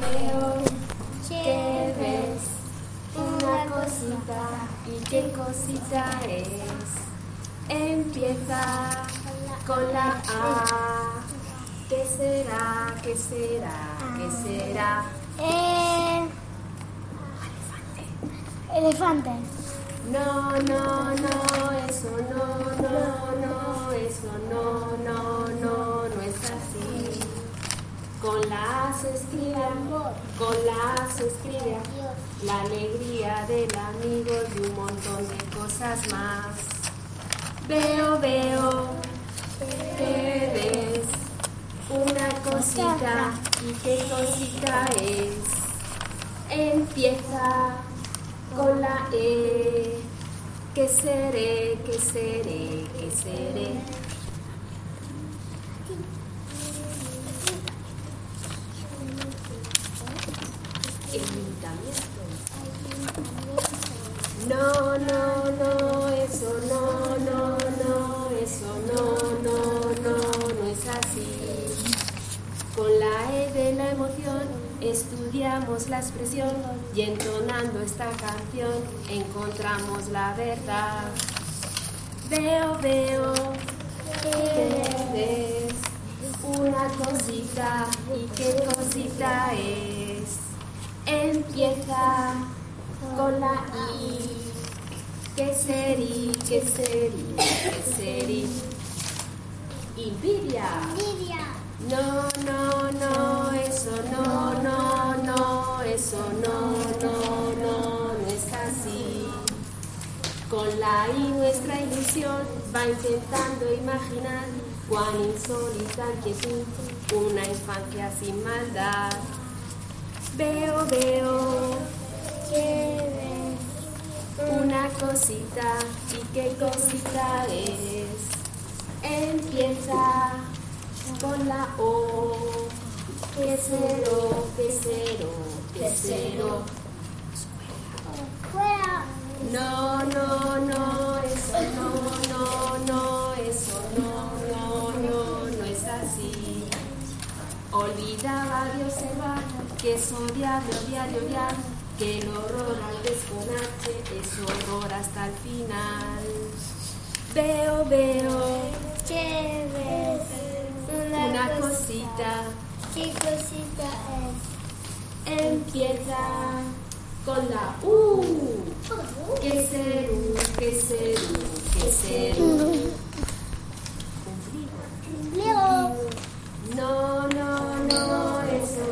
veo que ves una cosita. ¿Y qué cosita es? Empieza con la A. ¿Qué será? ¿Qué será? ¿Qué será? Elefante. No, no, no, eso no, eso no es así. Con la A se escribe amor, con la A se escribe la alegría del amigo y un montón de cosas más. Veo que ves una cosita. ¿Y qué cosita es? Empieza con la E. ¿Qué seré? ¿Qué seré? ¿Qué seré? Ayuntamiento. No, eso no es así. Con la E de la emoción estudiamos la expresión y entonando esta canción encontramos la verdad. Veo que ves una cosita. ¿Y qué cosita es? Empieza con la I. ¿Qué serí? ¿Qué serí? ¿Qué serí? Envidia. No, eso no es así. Con la I nuestra ilusión va intentando imaginar cuán insólita inquietud, una infancia sin maldad. Veo que ves una cosita. ¿Y qué cosita es? Empieza con la O. ¿Qué cero? ¿Qué cero? ¿Qué cero? Fuera. No, eso no es así. Olvidaba de observar que es odiable odiar, que el horror al desconache es horror hasta el final. Veo ¿Qué ves? una cosita. ¿Qué cosita es? Empieza con la U. ¿Qué serú? ¿Qué serú? ¿Qué serú? Leo. No, eso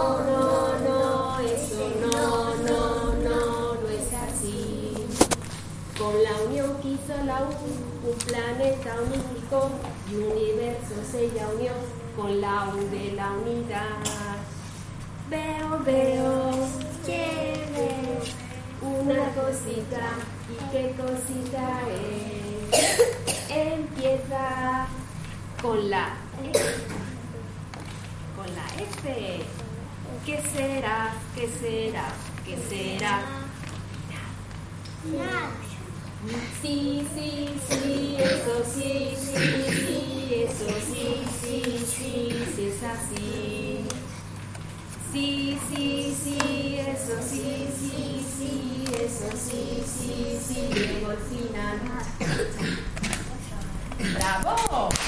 no es así. Con la unión que hizo la U, un planeta unificó y un universo se ya unió con la U de la unidad. Veo ¿Qué ves? una cosita. ¿Y qué cosita es? Empieza con la F. ¿Qué será? ¿Qué será? ¿Qué será? Sí, eso sí, es así. Sí, eso sí, llegó al final. ¡Bravo!